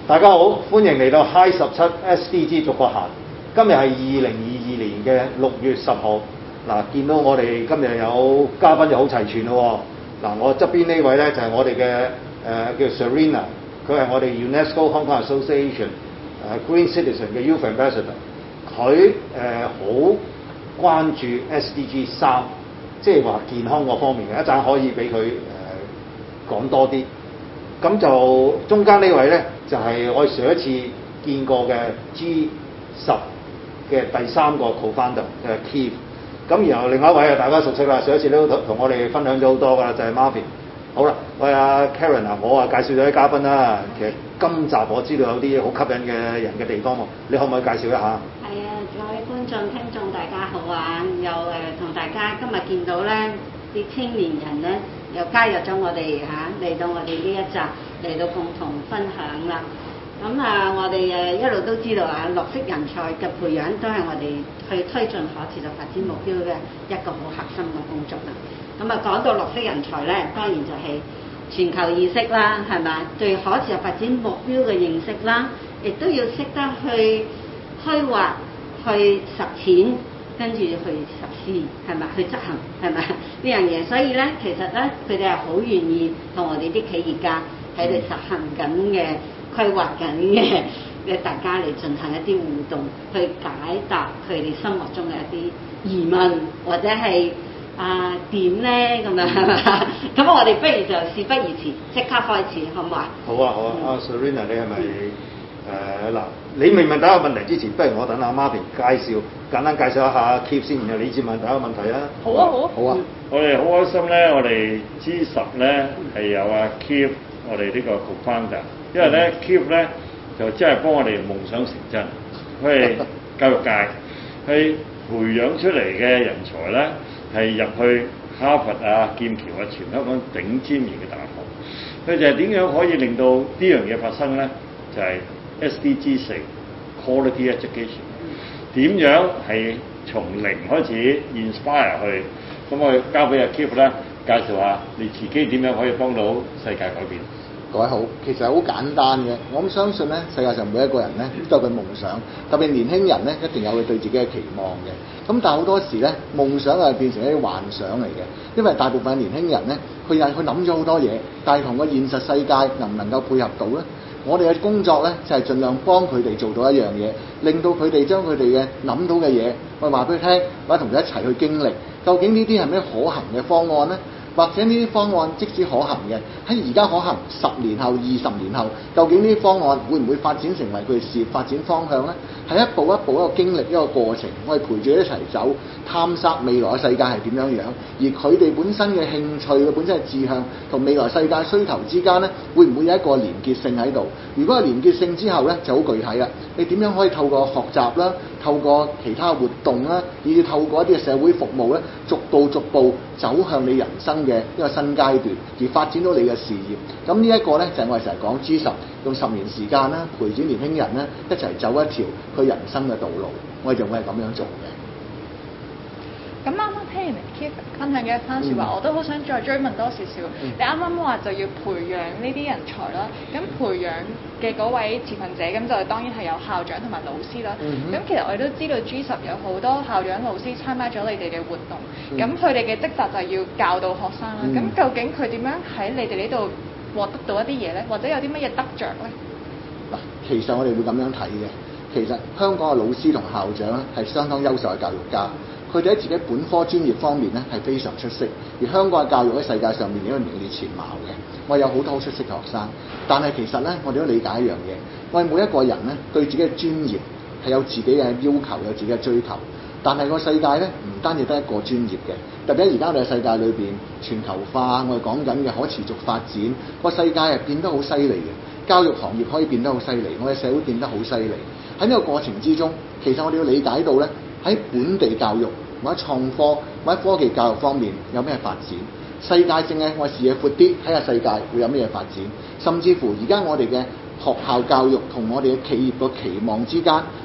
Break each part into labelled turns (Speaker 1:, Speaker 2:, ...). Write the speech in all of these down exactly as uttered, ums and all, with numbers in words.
Speaker 1: 大家好，歡迎嚟到 High 十七 S D G 逐個行。今日係二零二二年嘅六月十號。嗱，見到我哋今日有嘉賓就好齊全咯。嗱，我側邊呢位咧就係、是、我哋嘅誒叫 Serena， 佢係我哋 UNESCO Hong Kong Association 誒、呃、Green Citizen 嘅 Youth Ambassador。佢誒好關注 S D G 三，即係話健康嗰方面嘅，一陣可以俾佢誒講多啲。咁就中間呢位咧，就係、是、我上一次見過嘅 G 十嘅第三個 co-founder 就係 Keith。咁然後另外一位啊，大家熟悉啦，上一次都同我哋分享咗好多㗎啦，就係、是、Marvin。好啦，喂阿 Karen 啊，我啊介紹咗啲嘉賓啦。其實今集我知道有啲好吸引嘅人嘅地方喎，你可唔可以介紹一下？
Speaker 2: 係啊，各位觀眾聽眾大家好啊！又誒同大家今日見到咧啲青年人咧，又加入咗我哋嚇嚟到我哋呢一集嚟到共同分享啦。咁啊，我哋誒一路都知道啊，綠色人才嘅培養都係我哋去推進可持續發展目標嘅一個好核心嘅工作啦。咁啊，講到綠色人才咧，當然就係全球意識啦，係咪？對可持續發展目標嘅認識啦，亦都要識得去規劃、去實踐，跟住去實施，係咪？去執行，係咪？呢樣嘢，所以咧，其實咧，佢哋係好願意同我哋啲企業家喺度實行緊嘅、規劃緊嘅嘅大家嚟進行一啲互動，去解答佢哋心目中嘅一啲疑問，或者係啊點咧咁樣係嘛？咁我哋不如就事不宜遲，即刻開始，好唔好啊？
Speaker 1: 好啊好啊，阿、嗯、Serena 你係咪誒嗱？你未問第一個問題之前，不如我等阿 Marvin 介紹，簡單介紹一下 Keith 先，然後你先問第一個問題啊。
Speaker 2: 好啊好啊
Speaker 1: 好啊！
Speaker 3: 嗯、我哋好開心咧，我哋 G 十咧係有阿 Keith 我哋呢個 co-founder， 因為咧 Keith 咧就真係幫我哋夢想成真，佢係教育界，佢培養出嚟嘅人才咧係入去哈佛啊、劍橋啊，全香港頂尖型嘅大學，佢就係點樣可以令到呢樣嘢發生咧？就係、是S D G 四 Quality Education 點樣係從零開始 inspire 去，咁我交俾阿 Keith 咧介紹下你自己點樣可以幫到世界改變。
Speaker 4: 各位好，其實好簡單嘅，我咁相信咧，世界上每一個人咧都有佢夢想，特別年輕人咧一定有佢對自己嘅期望嘅。咁但係好多時咧，夢想係變成一啲幻想嚟嘅，因為大部分年輕人咧，佢又佢諗咗好多嘢，但係同個現實世界能唔能夠配合到咧？我哋嘅工作咧就係、是、盡量幫佢哋做到一樣嘢，令到佢哋將佢哋嘅諗到嘅嘢，我話俾佢聽，或者同佢一齊去經歷，究竟呢啲係咩可行嘅方案咧？或者呢啲方案即使可行嘅，喺而家可行，十年後、二十年後，究竟呢啲方案會唔會發展成為佢哋事業發展方向呢？係一步一步一個經歷一個過程，我哋陪住一齊走，探索未來嘅世界係點樣樣。而佢哋本身嘅興趣、佢本身嘅志向同未來世界需求之間呢，會唔會有一個連結性喺度？如果係連結性之後呢，就好具體啦。你點樣可以透過學習啦，透過其他活動啦，以至透過一啲嘅社會服務咧，逐步逐步走向你人生嘅一個新階段，而發展到你嘅事業。咁呢一個咧就係、是、我哋成日講 G 十用十年時間啦，陪住年輕人咧一齊走一條佢人生嘅道路。我哋就會係咁樣做嘅。
Speaker 5: 咁啱啱聽完 Keith 分享嘅一番説話，嗯、我都好想再追問多少少。嗯、你啱啱話就要培養呢啲人才啦，咁培養嘅嗰位持份者，咁就當然係有校長同埋老師啦。咁、嗯、哼其實我哋都知道 G 十有好多校長老師參加咗你哋嘅活動，咁佢哋嘅職責就係要教導學生啦。咁、嗯、究竟佢點樣喺你哋呢度獲得到一啲嘢咧？或者有啲乜嘢得着咧？
Speaker 4: 嗱，其實我哋會咁樣睇嘅。其實香港嘅老師同校長咧係相當優秀嘅教育家。佢哋喺自己本科專業方面咧係非常出色，而香港嘅教育喺世界上面亦都名列前茅嘅。我有好多好出色嘅學生，但係其實咧，我哋都理解一樣嘢，我哋每一個人咧對自己嘅專業係有自己嘅要求，有自己嘅追求。但係個世界咧唔單止得一個專業嘅，特別喺而家我哋嘅世界裏邊全球化，我哋講緊嘅可持續發展，個世界係變得好犀利嘅。教育行業可以變得好犀利，我哋社會變得好犀利。喺呢個過程之中，其實我哋要理解到咧。喺本地教育或者創科或者科技教育方面有咩發展？世界性嘅我視野闊啲，睇下世界會有咩發展。甚至乎而家我哋嘅學校教育同我哋嘅企業個期望之間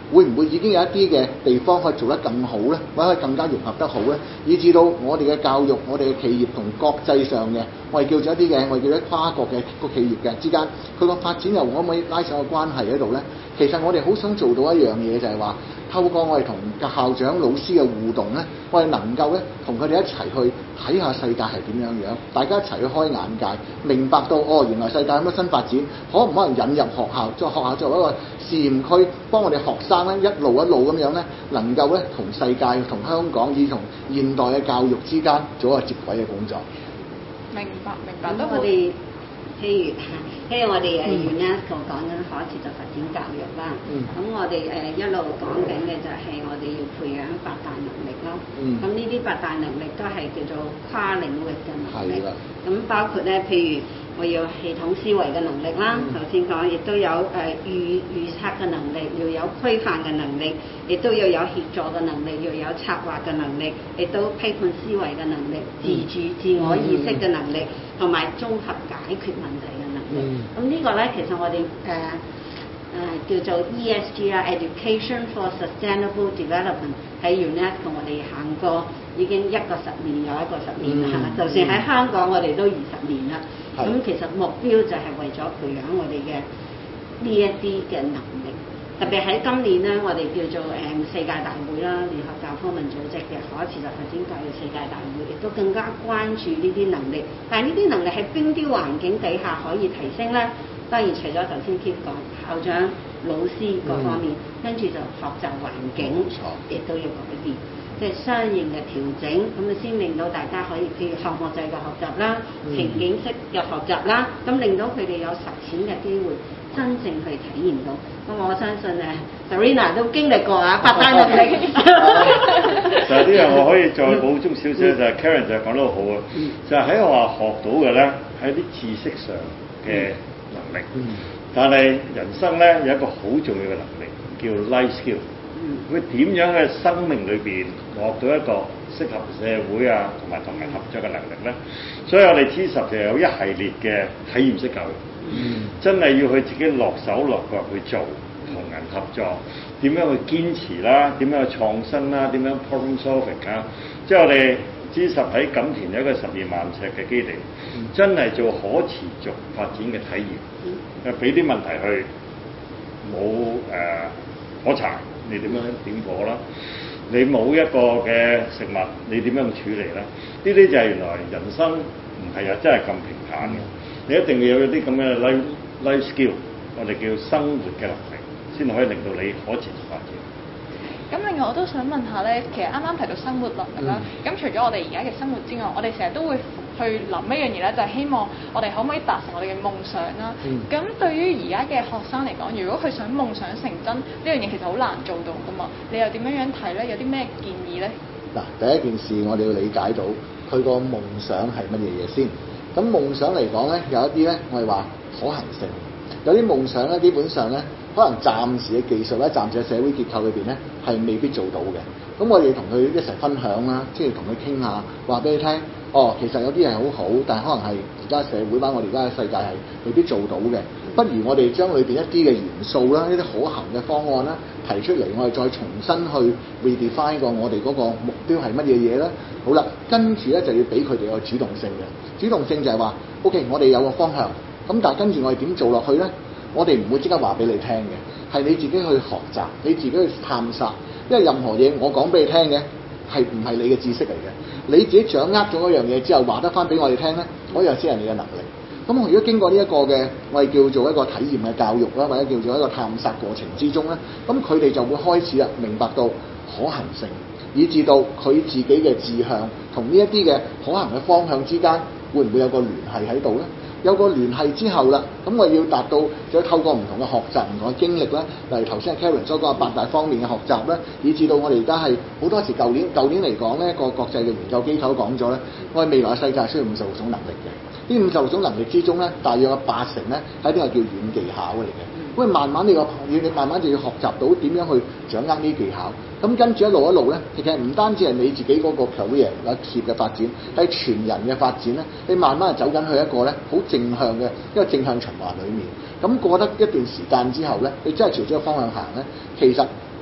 Speaker 4: 會唔會已經有一啲嘅地方可以做得更好咧，或者可以更加融合得好咧，以至到我哋嘅教育、我哋嘅企業同國際上嘅我哋叫做一啲嘅我哋叫做跨國嘅個企業嘅之間，佢個發展又可唔可以拉上個關係喺度咧？其實我哋好想做到一樣嘢，就係話透過我哋同校長、老師嘅互動咧，我哋能夠咧同佢哋一齊去睇下世界係點樣樣，大家一齊去開眼界，明白到哦，原來世界有乜新發展，可唔可能引入學校，作學校作為一個試驗區，幫我哋學生咧一路一路咁樣咧，能夠咧同世界、同香港以同現代嘅教育之間做一個接軌嘅工作。
Speaker 5: 明白明白，都
Speaker 2: 我哋譬如譬如我哋誒 UNESCO 講緊可持續發展教育啦，咁、嗯、我哋誒一路講緊嘅就係我哋要培養八大能力咯。咁呢啲八大能力都係叫做跨領域嘅能力。咁包括咧，譬如我要系統思維嘅能力啦，頭先講亦都有誒預預測嘅能力，要有規範嘅能力，亦都要有協助嘅能力，要有策劃嘅能力，亦都批判思維嘅能力，自主自我意識嘅能力，同埋綜合解決問題嘅能力。咁、嗯、呢個咧，其實我哋誒誒叫做 E S G 啦 ，Education for Sustainable Development 喺 UNESCO 我哋行過已經一個十年又一個十年啦、嗯，就算喺香港我哋都二十年啦。咁、嗯、其實目標就係為咗培養我哋嘅呢一啲嘅能力，特別喺今年咧，我哋叫做誒世界大會啦，聯合教科文組織嘅可持續發展教育世界大會，亦都更加關注呢啲能力。但係呢啲能力喺邊啲環境底下可以提升咧？當然除咗頭先 Keith 講校長、老師各方面，跟、嗯、住就學習環境，亦都要改變。即係相應嘅調整，咁啊先令到大家可以譬如項目制嘅學習啦、嗯、情景式嘅學習啦，咁令到佢哋有實踐嘅機會，真正去體驗到。咁我相信誒 Serena 都經歷過啊，八大能力。
Speaker 3: 就係呢樣我可以再補充少少，就係 Karen 就講得好啊，就係喺學校學到嘅咧，係啲知識上嘅能力，嗯、但係人生咧有一個好重要嘅能力叫 life skill。佢點樣喺生命裏邊獲到一個適合社會啊同埋同人合作嘅能力咧？所以我哋 T 十就有一系列嘅體驗式教育，嗯、真係要佢自己落手落腳去做，同人合作，點樣去堅持啦，點樣去創新啦，點樣 problem solving 啊！即係我哋 T 十喺錦田有一個十二萬尺嘅基地，嗯、真係做可持續發展嘅體驗，誒俾啲問題去冇誒可查。你點樣點火啦？你冇一個嘅食物，你點樣處理咧？呢啲就係原來人生唔係又真係咁平坦嘅。你一定要有啲咁嘅 life life skill， 我哋叫生活嘅能力，先可以令到你可持續發展。
Speaker 5: 咁另外我都想問下咧，其實啱啱提到生活能力啦，咁、嗯、除咗我哋而家嘅生活之外，我哋成日都會去諗一樣嘢咧，就係、是、希望我哋可唔可以達成我哋嘅夢想啦。咁、嗯、對於而家嘅學生嚟講，如果佢想夢想成真，呢樣嘢其實好難做到噶嘛。你又點樣樣睇咧？有啲咩建議咧？
Speaker 4: 嗱，第一件事我哋要理解到佢個夢想係乜嘢嘢先。咁夢想嚟講咧，有一啲咧我哋話可行性，有啲夢想咧基本上咧可能暫時嘅技術咧、暫時嘅社會結構裏邊咧係未必做到嘅。咁我哋同佢一齊分享啦，即係同佢傾下，話俾你聽。哦，其實有啲係好好，但係可能係而家社會版我哋而家嘅世界係未必做到嘅。不如我哋將裏邊一啲嘅元素啦、一啲可行嘅方案啦提出嚟，我哋再重新去 redefine 過我哋嗰個目標係乜嘢嘢咧？好啦，跟住咧就要俾佢哋個主動性嘅。主動性就係話 ，OK， 我哋有個方向，咁但係跟住我哋點做落去咧？我哋唔會即刻話俾你聽嘅，係你自己去學習，你自己去探索。因為任何嘢我講俾你聽嘅係唔係你嘅知識嚟嘅。你自己掌握咗嗰樣嘢之後，話得翻俾我哋聽咧，嗰樣先係你嘅能力。咁我如果經過呢一個嘅，我哋叫做一個體驗嘅教育啦，或者叫做一個探索過程之中咧，咁佢哋就會開始啦，明白到可行性，以至到佢自己嘅志向同呢一啲嘅可行嘅方向之間，會唔會有個聯繫喺度咧？有個聯繫之後啦，咁我要達到，就要透過唔同嘅學習、唔同嘅經歷啦，例如頭先阿 Karen 所講嘅八大方面嘅學習啦，以至到我哋而家係好多時舊年舊年嚟講咧，個國際嘅研究機構講咗咧，我哋未來嘅世界需要五十六種能力嘅。呢五十六種能力之中咧，大約有八成咧係一啲係叫軟技巧嚟嘅。咁慢慢你個你你慢慢就要學習到點樣去掌握呢啲技巧。咁跟住一路一路咧，其實唔單止係你自己嗰個 career 或者企業嘅發展，係全人嘅發展咧。你慢慢係走緊去一個咧好正向嘅一個正向循環裡面。咁過得一段時間之後咧，你真係朝咗個方向行咧，其實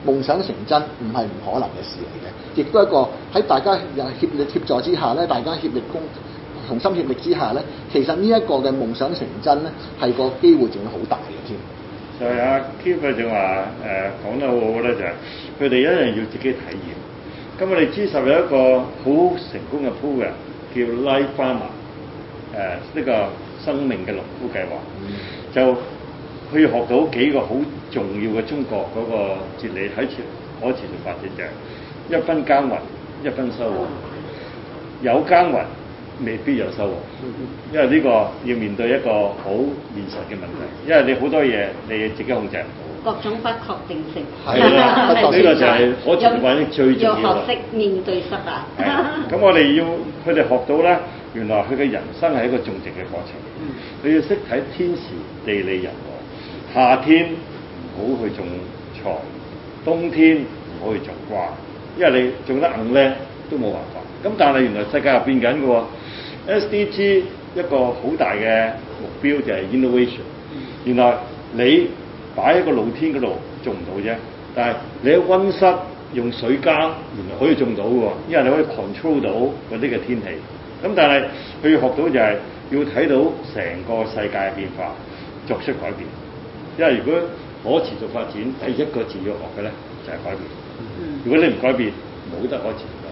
Speaker 4: 夢想成真唔係唔可能嘅事嚟嘅，亦都係一個喺大家協力協助之下咧，大家協力共同心協力之下咧，其實呢一個嘅夢想成真咧，係個機會仲會好大嘅添。
Speaker 3: 就係阿 Keith 就話誒講得好好咧，就係佢哋一樣要自己體驗。咁我哋 G 十有一個好成功嘅 program 叫 Life Farmer， 誒、呃、呢、這個生命嘅農夫計劃，嗯、就可以學到幾個好重要嘅中國嗰個哲理喺持可持續發展，就係一分耕耘一分收穫，有耕耘未必有收穫，因為呢個要面對一個好現實嘅問題，因為你好多嘢你自己控制唔到。
Speaker 2: 各種不確定性，
Speaker 3: 係啦，呢個就係可持續發展最重要。
Speaker 2: 要學識面對失敗。
Speaker 3: 咁我哋要佢哋學到咧，原來佢嘅人生係一個種植嘅過程。佢、嗯、要識睇天時地利人和，夏天唔好去種菜，冬天唔好去種瓜，因為你種得硬咧都冇辦法。咁但係原來世界係變緊嘅喎 ，S D G 一個好大嘅目標就係 innovation。原來你擺喺個露天嗰度種唔到啫，但係你喺溫室用水耕，原來可以種到嘅喎，因為你可以 control 到嗰啲嘅天氣。咁但係佢要學到就係要睇到成個世界嘅變化，作出改變。因為如果可持續發展第一個字要學嘅咧就係改變。如果你唔改變，冇得可持續。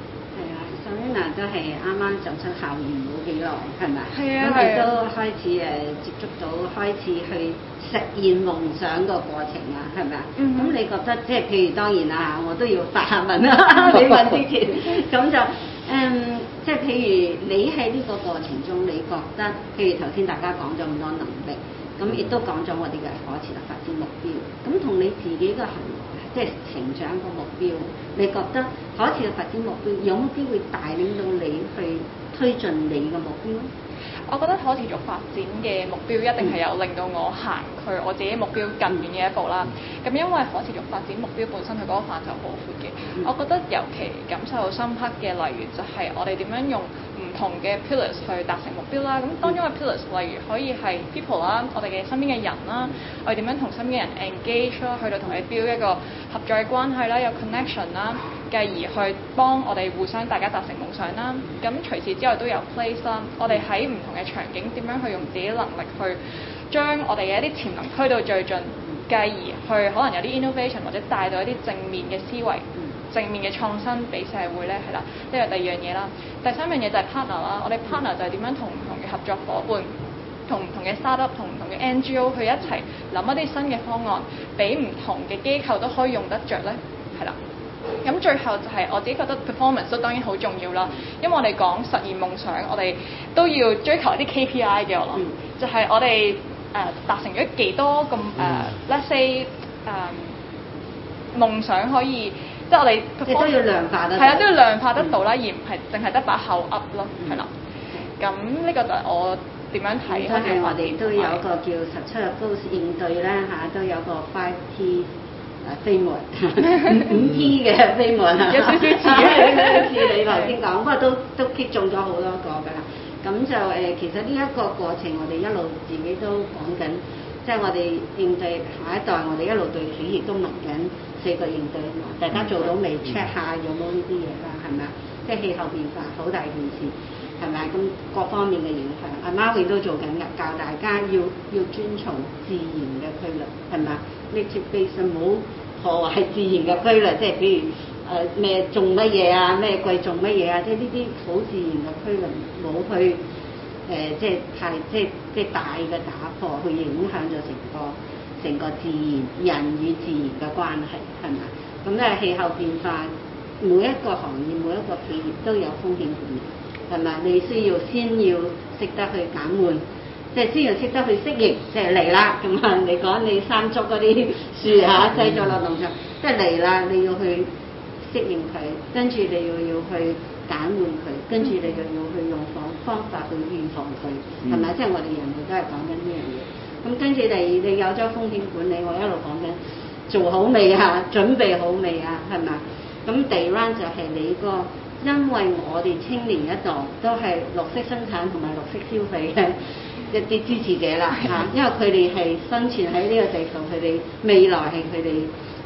Speaker 2: Selina 都係啱啱走出校園冇幾耐，係咪？
Speaker 5: 係啊，
Speaker 2: 咁你都開始誒接觸到，開始去實現夢想個過程啊，係咪啊？咁、嗯、你覺得即係譬如當然啦，我都要發下問啦，你問之前，咁就誒、嗯，即係譬如你喺呢個過程中，你覺得譬如頭先大家講咗咁多能力，咁亦都講咗我哋嘅可持續發展目標，咁同你自己嘅行為。即係成長個目標，你覺得可持續發展目標有冇機會帶領到你去推進你嘅目標？
Speaker 5: 我覺得可持續發展嘅目標一定係有令到我行去我自己目標更遠嘅一步啦。咁因為可持續發展目標本身佢嗰個範疇好闊嘅，我覺得尤其感受深刻嘅例如就係我哋點樣用唔同嘅 pillars 去達成目標啦。咁當中嘅 pillars 例如可以係 people 啦，我哋嘅身邊嘅人啦，我哋點樣同身邊嘅人 engage 啦，去到同你 build 一個合作嘅關係啦，有 connection 啦，繼而去幫我哋互相大家達成夢想啦。咁除此之外都有 place 啦，我哋喺唔同嘅場景點樣去用自己能力去將我哋嘅一啲潛能推到最盡，繼而去可能有啲 innovation 或者帶到一啲正面嘅思維、正面嘅創新俾社會咧，係啦，呢個第二樣嘢啦。第三樣嘢就係 partner 啦，我哋 partner 就係點樣同唔同嘅合作伙伴、同唔同嘅 startup、同唔同嘅 N G O 去一齊諗一啲新嘅方案，俾唔同嘅機構都可以用得着咧，係啦。咁最後就係我自己覺得 performance 都當然好重要啦，因為我哋講實現夢想，我哋都要追求一啲 K P I 嘅，我諗、嗯、就係我哋誒、呃、達成咗幾多咁誒、呃、let's say 誒、呃、夢想可以，即係我哋
Speaker 2: 亦都要量化得，
Speaker 5: 係啦，都要量化得到啦，嗯、而唔係淨係得把口噏咯，係啦、嗯。咁呢個就係我點樣睇。
Speaker 2: 都係我哋都有一個叫十七日 goals 應對咧嚇，都有個 five T。誒飛門五 T 嘅飛門啊，有少少似似你頭先講，不過都都擊中咗好多個㗎啦。咁就誒、呃，其實呢一個過程，我哋一路自己都講緊，即係我哋應對下一代，我哋一路對企業都問緊四個應對啊嘛。大家做到未 check 下有冇呢啲嘢啦，係咪啊？即係氣候變化好大件事，係咪？咁各方面嘅影響，阿 Marvin 都做緊㗎，教大家要要遵從自然嘅規律，係咪啊？nature based 唔好破壞自然嘅規律，即係譬如誒咩、呃、種乜嘢啊，咩季種乜嘢啊，即係呢啲好自然嘅規律，冇去誒、呃、即係太即係即係大嘅打破，去影響咗成個成個自然人與自然嘅關係，係咪？咁咧氣候變化，每一個行業每一個企業都有風險管理，係咪？你需要先要識得去減緩。即係先要識得去適應，即係嚟啦。咁啊，你講你山竹嗰啲樹嚇製咗落農場，即係嚟啦，你要去適應佢，跟住你又要去減緩佢，跟住你又要去用方方法去預防佢，係咪、嗯？即係我哋人類都係講緊呢樣嘢。咁跟住你你有咗風險管理，我一路講緊做好未啊？準備好未啊？係咪？咁第二 round 就係你個，因為我哋青年一代都係綠色生產同埋綠色消費嘅一啲支持者啦嚇，因為佢哋係生存喺呢個地球，佢哋未來係佢哋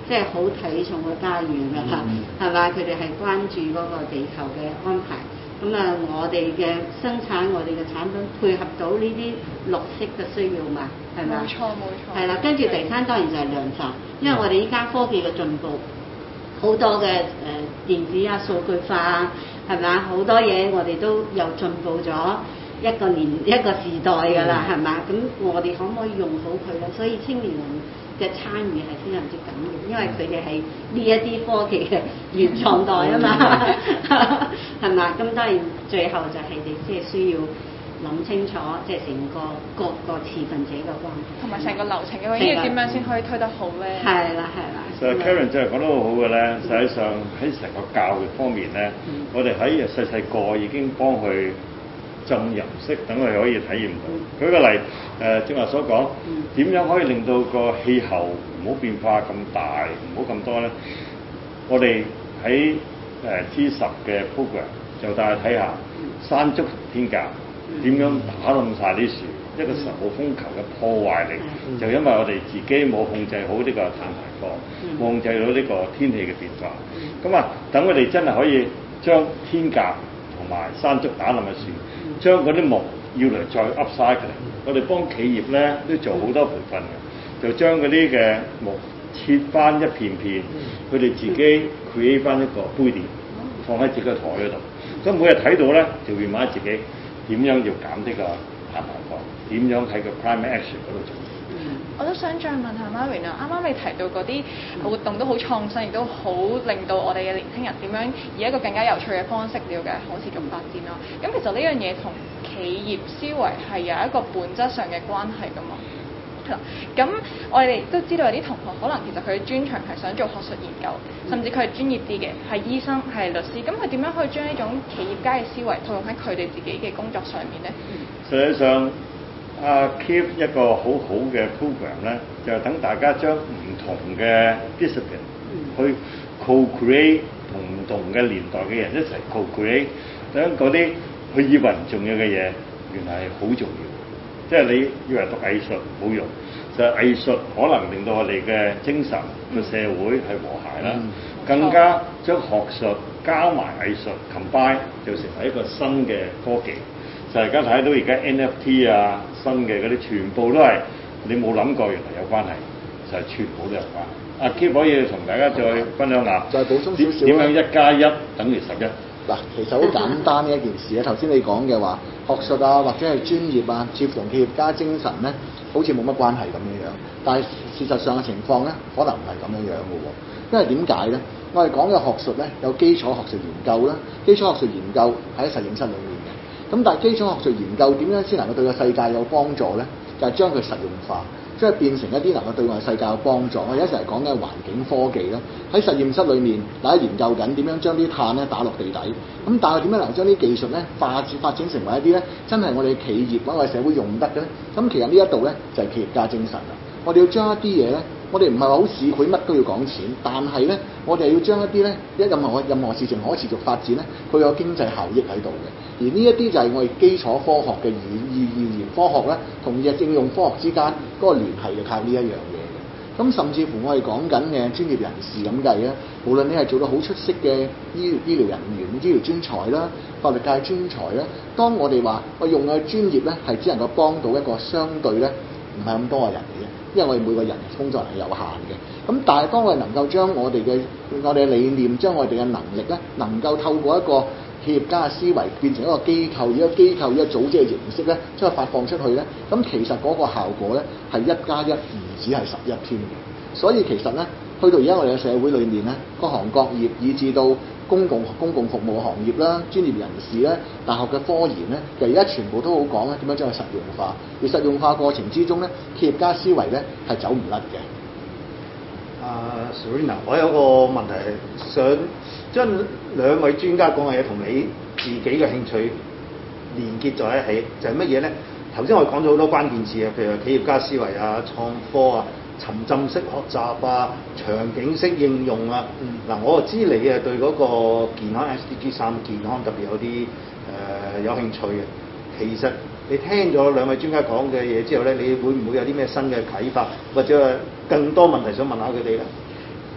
Speaker 2: 即係好睇重個家園㗎啦，係嘛、嗯？佢哋係關注嗰個地球嘅安排。咁啊，我哋嘅生產，我哋嘅產品配合到呢啲綠色嘅需要嘛，係咪？
Speaker 5: 冇錯冇錯。係
Speaker 2: 啦，跟住第三當然就係量產，因為我哋依家科技嘅進步，好多嘅誒、呃、電子啊、數據化啊，係咪啊？好多嘢我哋都又進步咗一個年一個時代㗎啦，係嘛？咁我哋可唔可以用好佢咧？所以青年人嘅參與係非常之緊要，因為佢哋係呢一啲科技嘅原創代啊嘛，係嘛？咁當然最後就係你即係需要諗清楚，即係成個各個持份者嘅關係，同埋成個流程嘅話，應該點樣先可以推得好咧？係啦係啦。
Speaker 3: 其實 Karen 真係講得好好嘅咧，實際上喺成個教育方面咧，嗯、我哋喺細細個已經幫佢浸入式，等佢可以體驗到。嗯、舉個例，誒正話所講，點、嗯、樣可以令到個氣候唔好變化咁大，唔好咁多咧？我哋喺誒 G 十嘅 program 就帶佢睇下山竹同天鴿點樣打冧晒啲樹，一個十號風球嘅破壞力，嗯、就因為我哋自己冇控制好呢個碳排放，冇、嗯、控制到呢個天氣嘅變化。咁啊、嗯，等我哋真係可以將天鴿同埋山竹打冧嘅樹。將嗰啲木要嚟再 upcycle 嚟，我哋幫企業咧都做好多培訓嘅，就將嗰啲嘅木切翻一片片，佢哋自己 create 翻一個杯墊，放喺自己個台嗰度。咁每日睇到咧，就會問自己點樣要減呢個碳排放，點樣喺個 climate action 嗰度做。
Speaker 5: 我都想再問下 Marvin 啊，啱啱你提到嗰啲活動都好創新，亦都好令到我哋嘅年輕人點樣以一個更加有趣嘅方式了解可持續發展咯。咁其實呢樣嘢同企業思維係有一個本質上嘅關係㗎嘛。係啦，咁我哋都知道有啲同學可能其實佢專長係想做學術研究，甚至佢係專業啲嘅，係醫生、係律師。咁佢點樣可以將呢種企業家嘅思維套用喺佢哋自己嘅工作上面咧？
Speaker 3: 實際上。啊 Keep 一個好好嘅 program 咧，就係等大家將唔同嘅 discipline 去 co-create 同唔同嘅年代嘅人一齊 co-create，等嗰啲佢以為唔重要嘅嘢，原來係好重要。即係你以為讀藝術冇用，就係藝術可能令到我哋嘅精神個社會係和諧啦，嗯、更加將學術加埋藝術 combine 就成為一個新嘅科技。就而家睇到而家 N F T 啊，新嘅嗰啲全部都係你冇諗過，原來有關係，就係、是、全部都有關係。阿 Keep 可以同大家再分享下，
Speaker 4: 再補充少少
Speaker 3: 點樣一加一等於十一？
Speaker 4: 嗱，其實好簡單嘅一件事啊。頭先你講嘅話，學術啊或者係專業啊，似乎同企業家精神咧，好似冇乜關係咁樣樣。但係事實上嘅情況咧，可能唔係咁樣樣嘅喎。因為點解咧？我哋講嘅學術咧，有基礎學術研究啦，基礎學術研究喺實驗室裏面嘅。咁但係基礎學術研究點樣先能夠對個世界有幫助咧？就係、是、將佢實用化，即係變成一啲能夠對外世界有幫助。我哋一齊講嘅環境科技啦，喺實驗室裏面，大家研究緊點樣將啲碳咧打落地底。咁但係點樣能夠將啲技術咧發展發展成為一啲咧真係我哋企業或者我哋社會用得嘅咧？咁其實呢一度咧就係、是、企業家精神啦。我哋要將一啲嘢咧，我哋唔係話好市儈乜都要講錢，但係咧我哋要將一啲咧一任何任何事情可持續發展咧，佢有經濟效益喺度嘅。而呢一啲就係我哋基礎科學嘅語語語言科學咧，同日應用科學之間嗰個聯繫就靠呢一樣嘢嘅。咁甚至乎我哋講緊嘅專業人士咁計咧，無論你係做到好出色嘅醫醫療人員、醫療專才啦、法律界專才啦，當我哋話我用嘅專業咧係只能夠幫到一個相對咧唔係咁多嘅人嚟嘅，因為我哋每個人工作係有限嘅。咁但係當我哋能夠將我哋嘅我哋嘅理念、將我哋嘅能力咧，能夠透過一個企業家嘅思維變成一個機構，以一個機構、一個組織嘅形式咧，將佢發放出去咧，咁其實嗰個效果咧係一加一唔止係十一添嘅。所以其實咧，去到而家我哋嘅社會裏面咧，各行各業以至到公共公共服務行業啦、專業人士咧、大學嘅科研咧，其實而家全部都好講咧點樣將佢實用化。而實用化過程之中咧，企業家思維咧係走唔甩嘅。
Speaker 1: 阿、uh, Serena， 我有個問題係想將兩位專家講嘅嘢同你自己嘅興趣連結在一起，就係乜嘢咧？頭先我哋講咗好多關鍵詞啊，譬如企業家思維啊、創科啊、沉浸式學習啊、場景式應用啊。嗱、嗯，我就知你啊對嗰個健康 S D G 三健康特別有啲誒、呃、有興趣嘅。其實你聽咗兩位專家講嘅嘢之後咧，你會唔會有啲咩新嘅啟發，或者更多問題想問下佢哋咧？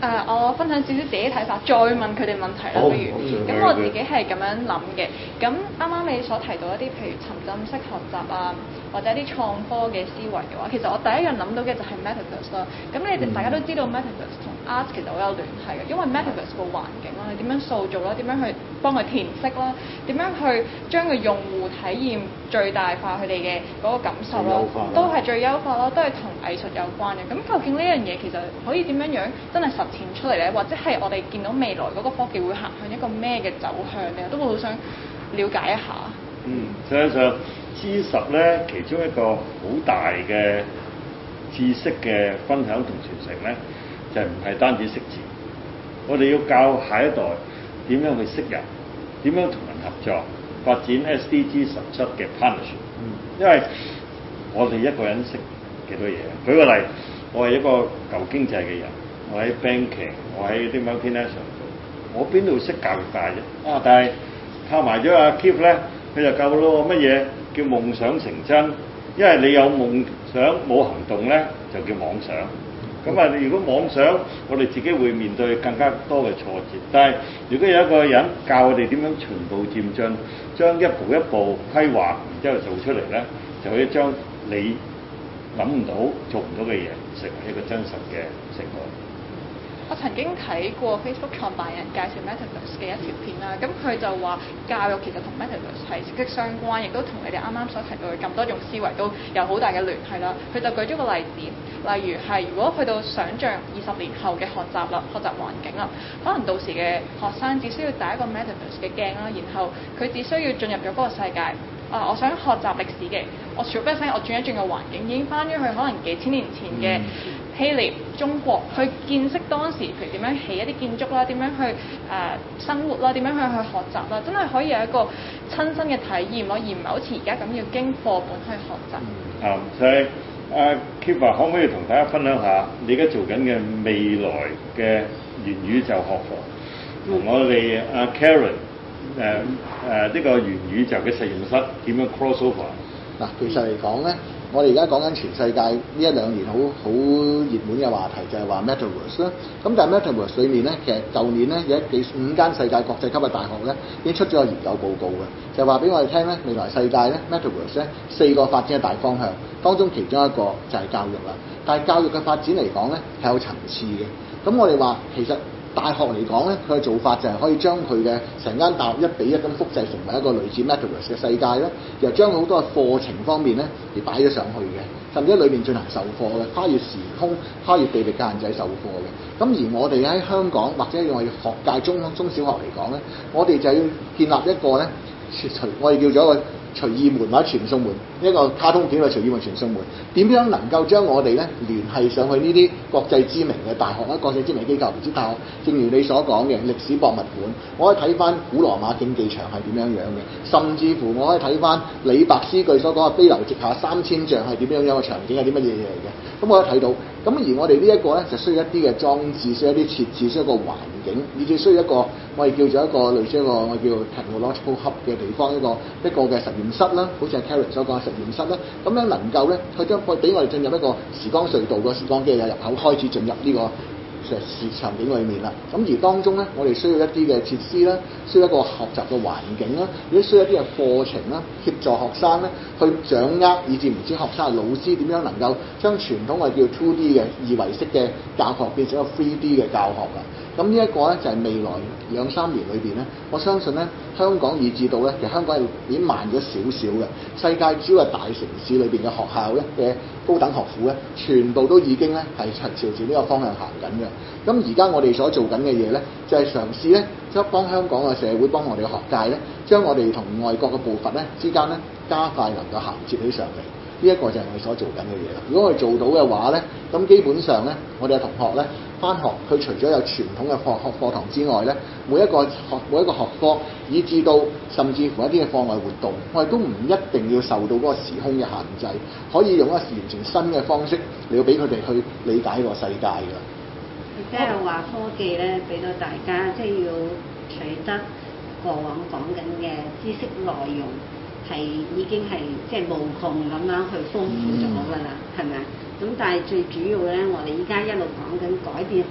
Speaker 5: 誒、呃，我分享少少自己睇法，再問佢哋問題啦，
Speaker 1: 好
Speaker 5: 不如。咁我自己係咁樣諗嘅。咁啱啱你所提到一啲譬如沉浸式學習啊，或者一啲創科嘅思維嘅話，其實我第一樣諗到嘅就係 Metaverse 啦。咁你哋大家都知道 Metaverse 同 art 其實好有聯繫嘅，因為 Metaverse 個環境啦，你點樣塑造啦，點樣去幫佢填色啦，點樣去將個用戶體驗最大化佢哋嘅嗰個感受啦，都係最優化啦，都係同藝術有關嘅。咁究竟呢樣嘢其實可以點樣樣真係實踐出嚟咧？或者係我哋見到未來嗰個科技會行向一個咩嘅走向咧？都會好想了解一下。
Speaker 3: 嗯，實際上 G 十咧，其中一個好大嘅知識嘅分享同傳承咧，就唔係單止識字，我哋要教下一代點樣去識人，點樣同人合作，發展 S D G 十七嘅 partnership。嗯，因為我哋一個人識幾多嘢？舉個例，我係一個舊經濟嘅人，我喺 banking， 我喺啲 multinational 做，我邊度識教育界啫？啊，但係靠埋咗阿 Keith 咧，佢就夠咯。乜嘢叫夢想成真？因為你有夢想冇行動咧，就叫妄想。咁啊，如果妄想，我哋自己會面對更加多嘅挫折。但係如果有一個人教我哋點樣循步漸進，將一步一步規劃，然之後做出嚟咧，就可以將你諗唔到、做唔到嘅嘢，成為一個真實嘅成果。
Speaker 5: 我曾經睇過 Facebook 創辦人介紹 Metaverse 嘅一條片啦，咁佢就話教育其實同 Metaverse 係息息相關，亦都同你哋啱啱所提到嘅咁多種思維都有好大嘅聯繫啦。佢就舉咗個例子，例如係如果去到想像二十年後嘅學習啦、學習環境啦，可能到時嘅學生只需要帶一個 Metaverse 嘅鏡啦，然後佢只需要進入咗嗰個世界。啊！我想學習歷史嘅，我除咗聲，我轉一轉個環境，已經翻咗去可能幾千年前嘅希臘、中國，去見識當時譬如點樣起一啲建築啦，點樣去誒、呃、生活啦，點樣去去學習啦，真係可以有一個親身嘅體驗咯，而唔係好似而家咁要經課本去學習。
Speaker 3: 啊、嗯，所以阿 Keith 可唔可以同大家分享下你而家做緊嘅未來嘅元宇宙學課，同我哋阿 Karen？誒誒呢個元宇宙嘅實驗室點樣 cross over？
Speaker 4: 嗱，其實嚟講咧，我哋而家講緊全世界呢一兩年好好熱門嘅話題就係話 Metaverse 啦。咁但係 Metaverse 裏面咧，其實舊年咧有幾五間世界國際級嘅大學咧已經出咗個研究報告嘅，就話俾我哋聽咧，未來世界咧 Metaverse 咧四個發展嘅大方向，當中其中一個就係教育啦。但係教育嘅發展嚟講咧係有層次嘅。咁我哋話其實大學嚟講咧，佢嘅做法就係可以將佢嘅成間大學一比一咁複製成為一個類似 Metaverse 嘅世界咧，又將好多嘅課程方面咧而擺咗上去嘅，甚至喺裏面進行授課嘅，跨越時空、跨越地域嘅限制授課嘅。咁而我哋喺香港或者用我哋學界中中小學嚟講咧，我哋就要建立一個咧，隨我哋叫做一個隨意門或者傳送門，一個卡通片嘅隨意門傳送門，點樣能夠將我哋咧聯繫上去呢啲國際知名嘅大學啦、國際知名機構，唔知大學，正如你所講嘅歷史博物館，我可以睇翻古羅馬競技場係點樣樣嘅，甚至乎我可以睇翻李白詩句所講嘅飛流直下三千丈係點樣樣嘅場景係啲乜嘢嘢嚟嘅，咁我可以睇到。咁而我哋呢一個咧就需要一啲嘅裝置，需要一啲設置，需要一個環境，以至需要一個我哋叫做一個類似一個我哋叫做 technological hub 嘅地方，一個一個嘅實驗室啦，好似係 Karen 所講嘅實驗室啦，咁樣能夠咧佢將俾我哋進入一個時光隧道個時光機嘅入口，開始進入呢個市場景裏面啦。咁而當中咧，我哋需要一啲嘅設施啦，需要一個學習嘅環境啦，亦都需要一啲嘅課程啦，協助學生咧去掌握，以至唔知學生老師點樣能夠將傳統我哋叫 two D 嘅二維式嘅教學變成一個 three D 嘅教學啦。咁呢一個咧就係未來兩三年裏邊咧，我相信咧香港以至到咧，其實香港係已經慢咗少少嘅。世界主要係大城市裏邊嘅學校咧嘅高等學府咧，全部都已經咧係朝住呢個方向行緊嘅。咁而家我哋所做緊嘅嘢咧，就係嘗試咧，即係幫香港嘅社會，幫我哋嘅學界咧，將我哋同外國嘅步伐咧之間咧加快能夠銜接起上嚟。呢一個就係我哋所做緊嘅嘢啦。如果我哋做到嘅話咧，咁基本上咧，我哋嘅同學咧返學，佢除咗有傳統嘅課學課堂之外咧，每一個學每一個學科，以至到甚至乎一啲嘅課外活動，我哋都唔一定要受到嗰個時空嘅限制，可以用一個完全新嘅方式嚟到俾佢哋去理解個世界㗎。
Speaker 2: 即係話科技咧，俾到大家即係要取得過往講緊嘅知識內容。係已經係即係無窮咁樣去豐富咗㗎啦，係咪啊？咁但係最主要咧，我哋依家一路講緊改變學習環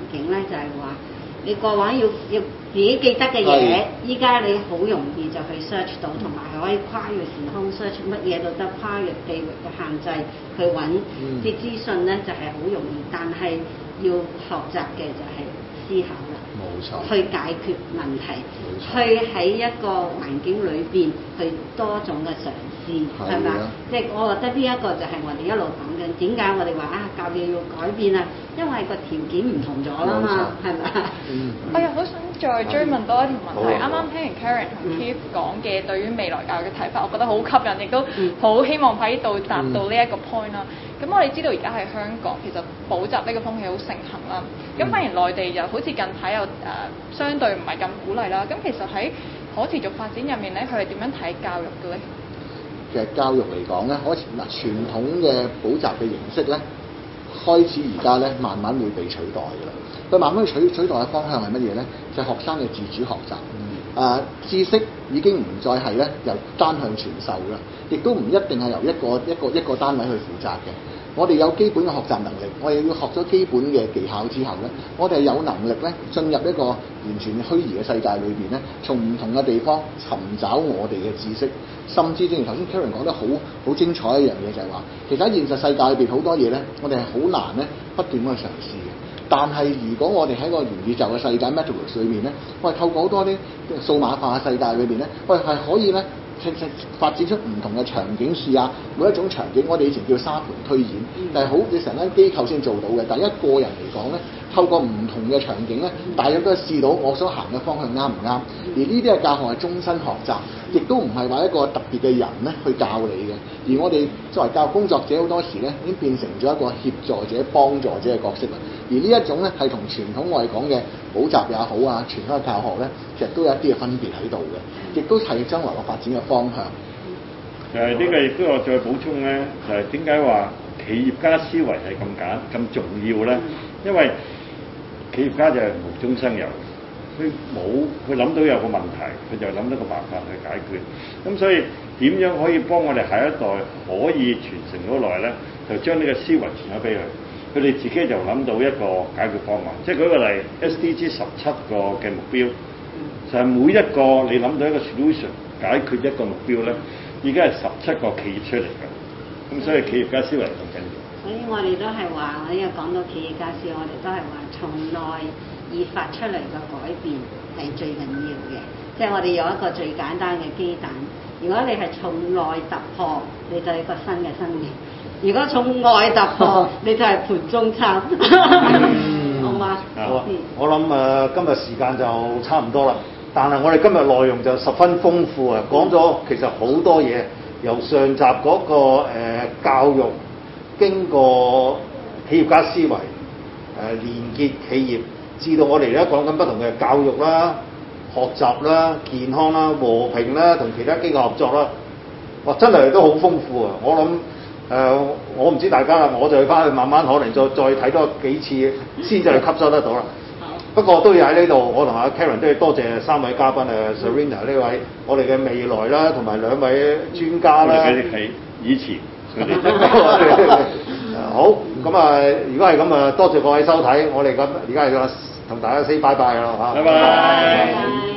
Speaker 2: 境咧，就係話你過往要要自己記得嘅嘢，依家你好容易就去 search 到，同埋係可以跨越時空 search 乜嘢都得，跨越地域嘅限制去揾啲資訊咧，就係好容易。但係要學習嘅就係思考啦，
Speaker 4: 冇錯，
Speaker 2: 去解決問題，去喺一個環境裏邊去多種嘅嘗試，係咪？即係我覺得呢一個就係我哋一路講緊，點解我哋話啊教育要改變啊？因為個條件唔同咗啦嘛，係咪？
Speaker 5: 嗯，我又好想再追問多一條問題。啱啱聽完 Karen 同 Keith 講嘅對於未來教育嘅睇法，我覺得好吸引，亦都好希望喺度達到呢一個 point 啦。咁我哋知道而家喺香港其實補習呢個風氣好盛行啦，咁反而內地又好似近排又誒、呃、相對唔係咁鼓勵啦。咁其實喺可持續發展入面咧，佢係點樣睇教育嘅咧？
Speaker 4: 其實教育嚟講咧，可嗱傳統嘅補習嘅形式咧，開始而家咧慢慢會被取代㗎啦。佢慢慢取取代嘅方向係乜嘢咧？就係、是、學生嘅自主學習。誒、呃、知識已經唔再係咧由單向傳授啦，亦都唔一定係由一個一個一個單位去負責嘅。我哋有基本嘅學習能力，我哋要學咗基本嘅技巧之後咧，我哋有能力咧進入一個完全虛擬嘅世界裏邊咧，從唔同嘅地方尋找我哋嘅知識，甚至正如頭先 Karen 講得好好精彩一樣嘢，就係話其實喺現實世界裏邊好多嘢咧，我哋係好難咧不斷咁去嘗試嘅。但係如果我哋喺個元宇宙嘅世界 Metaverse 裏面咧，我係透過好多啲數碼化嘅世界裏邊咧，我哋係可以咧發展出唔同嘅場景試下每一種場景，我哋以前叫沙盤推演，但係好似成間機構先做到嘅。但係一個人嚟講咧，透過唔同嘅場景咧，大約都係試到我所行嘅方向啱唔啱。而呢啲嘅教學係終身學習，亦都唔係話一個特別嘅人咧去教你嘅。而我哋作為教育工作者，好多時咧已經變成咗一個協助者、幫助者嘅角色啦。而呢一種咧係同傳統我哋講嘅補習也好啊，傳統嘅教學咧，其實都有一啲嘅分別喺度嘅，亦都係將來個發展嘅方向。
Speaker 3: 誒、呃，呢、這個亦都我再補充咧，就係點解話企業家思維係咁簡咁重要咧？因為企業家就係無中生有，佢冇佢諗到有個問題，佢就諗到個辦法去解決。咁所以點樣可以幫我哋下一代可以傳承到來咧？就將呢個思維傳咗俾佢。佢哋自己就諗到一個解決方案，即係舉個例 ，S D G 十七個嘅目標，就係、是、每一個你諗到一個 solution 解決一個目標咧，已經係十七個企業出嚟嘅。咁所以企業家思維咁緊要。
Speaker 2: 所以我哋都係話，我呢個講到企業家思維，我哋都係話從內而發出嚟嘅改變係最緊要嘅。即係我哋有一個最簡單嘅雞蛋，如果你係從內突破，你就係一個新嘅生命。如果從外突破，你就係盤中餐，好嘛？
Speaker 1: 好啊！我諗誒、呃，今日時間就差唔多啦。但係我哋今日內容就十分豐富啊，講咗其實好多嘢，由上集嗰、那個、呃、教育，經過企業家思維誒、呃、連結企業，至到我哋而家講緊不同嘅教育啦、學習啦、健康啦、和平啦，同其他機構合作啦。哇！真係都好豐富啊！我諗。誒、呃，我唔知大家啦，我就翻去慢慢可能再再睇多幾次，先至去吸收得到啦。不過都要喺呢度，我同阿 Karen 都要多謝三位嘉賓誒 Serena 呢位我哋嘅未來啦，同埋兩位專家啦。佢哋係以前佢哋。好，咁啊，如果係咁啊，多謝各位收睇，我哋咁而家係同大家 say 拜拜啦嚇。拜拜。